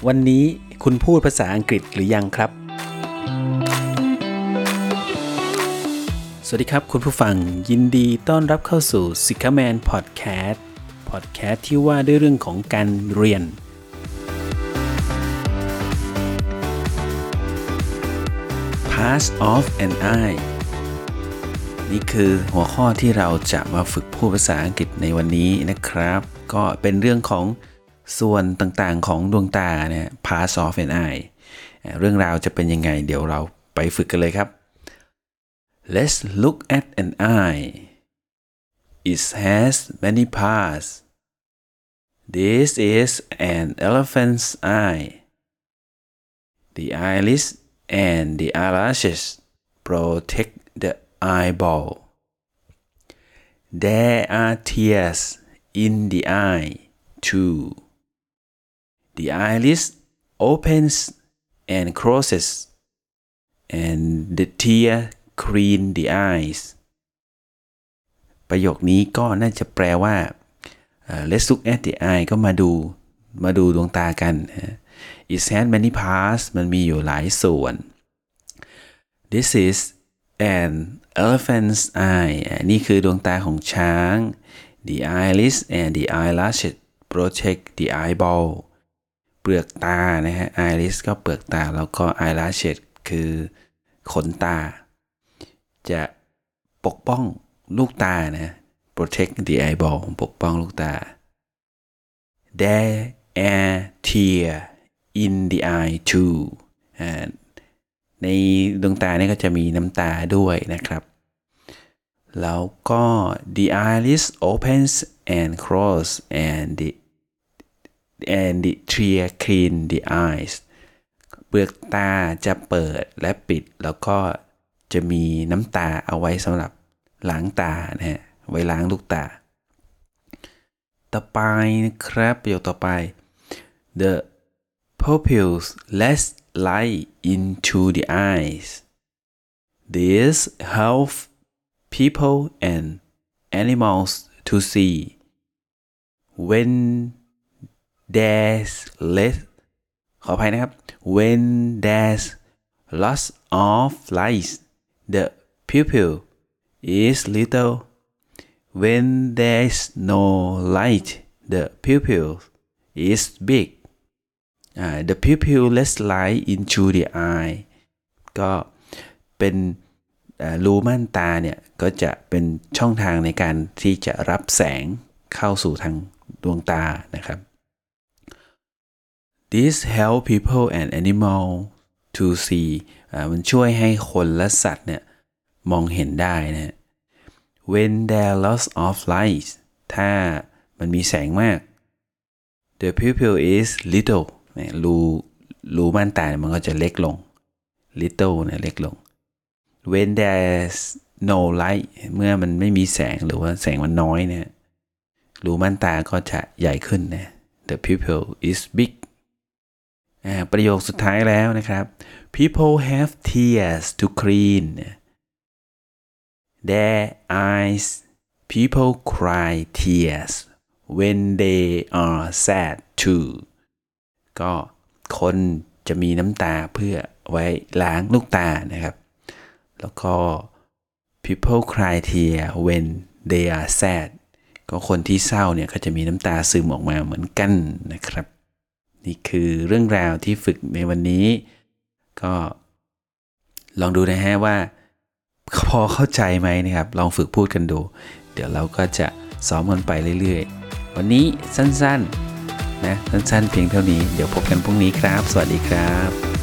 วันนี้คุณพูดภาษาอังกฤษหรือยังครับสวัสดีครับคุณผู้ฟังยินดีต้อนรับเข้าสู่ Sicaman Podcast ที่ว่าด้วยเรื่องของการเรียนPass off an eye นี่คือหัวข้อที่เราจะมาฝึกพูดภาษาอังกฤษในวันนี้นะครับก็เป็นเรื่องของส่วนต่างๆของดวงตาเนี่ย Pass off an eye เรื่องราวจะเป็นยังไงเดี๋ยวเราไปฝึกกันเลยครับ Let's look at an eye. It has many parts. This is an elephant's eye. The eyelids and the eyelashes protect the eyeball. There are tears in the eye too. The eyelids opens and closes, and the tear clean the eyes. ประโยคนี้ก็น่าจะแปลว่า Let's look at the eye ก็มาดูดวงตากัน It has many parts มันมีอยู่หลายส่วน This is an elephant's eye นี่คือดวงตาของช้าง The eyelids and the eyelashes protect the eyeball เปลือกตานะฮะ eyelids ก็เปลือกตาแล้วก็ eyelashes คือขนตาจะปกป้องลูกตานะ protect the eyeball ปกป้องลูกตา There are tears in the eye too ในดวงตาเนี่ยก็จะมีน้ำตาด้วยนะครับแล้วก็ the eyelids opens and close and the tear clean the eyes เปลือกตาจะเปิดและปิดแล้วก็จะมีน้ำตาเอาไว้สำหรับล้างตานะฮะไว้ล้างลูกตาต่อไปนะครับประโยคต่อไป The pupils let light into the eyes. This helps people and animals to see. When there's less ขออภัยนะครับ When there's lots of light, the pupil is little. When there's no light, the pupil is big. The pupil lets light into the eye ก็เป็นรูม่านตาเนี่ยก็จะเป็นช่องทางในการที่จะรับแสงเข้าสู่ทางดวงตานะครับ This help people and animal to see มันช่วยให้คนและสัตว์เนี่ยมองเห็นได้นะ When there lots of light ถ้ามันมีแสงมาก the pupil is little รูม่านตามันก็จะเล็กลง little เนี่ยเล็กลง when there's no light เมื่อมันไม่มีแสงหรือว่าแสงมันน้อยเนี่ยรูม่านตาก็จะใหญ่ขึ้นนะ the pupil is big ประโยคสุดท้ายแล้วนะครับ people have tears to clean their eyes people cry tears when they are sad too ก็คนจะมีน้ำตาเพื่อไว้ล้างลูกตานะครับแล้วก็ people cry tears when they are sad ก็คนที่เศร้าเนี่ยก็จะมีน้ำตาซึมออกมาเหมือนกันนะครับนี่คือเรื่องราวที่ฝึกในวันนี้ก็ลองดูนะฮะว่าพอเข้าใจไหมนะครับลองฝึกพูดกันดูเดี๋ยวเราก็จะซ้อมกันไปเรื่อยๆวันนี้สั้นๆนะสั้นๆเพียงเท่านี้เดี๋ยวพบกันพรุ่งนี้ครับสวัสดีครับ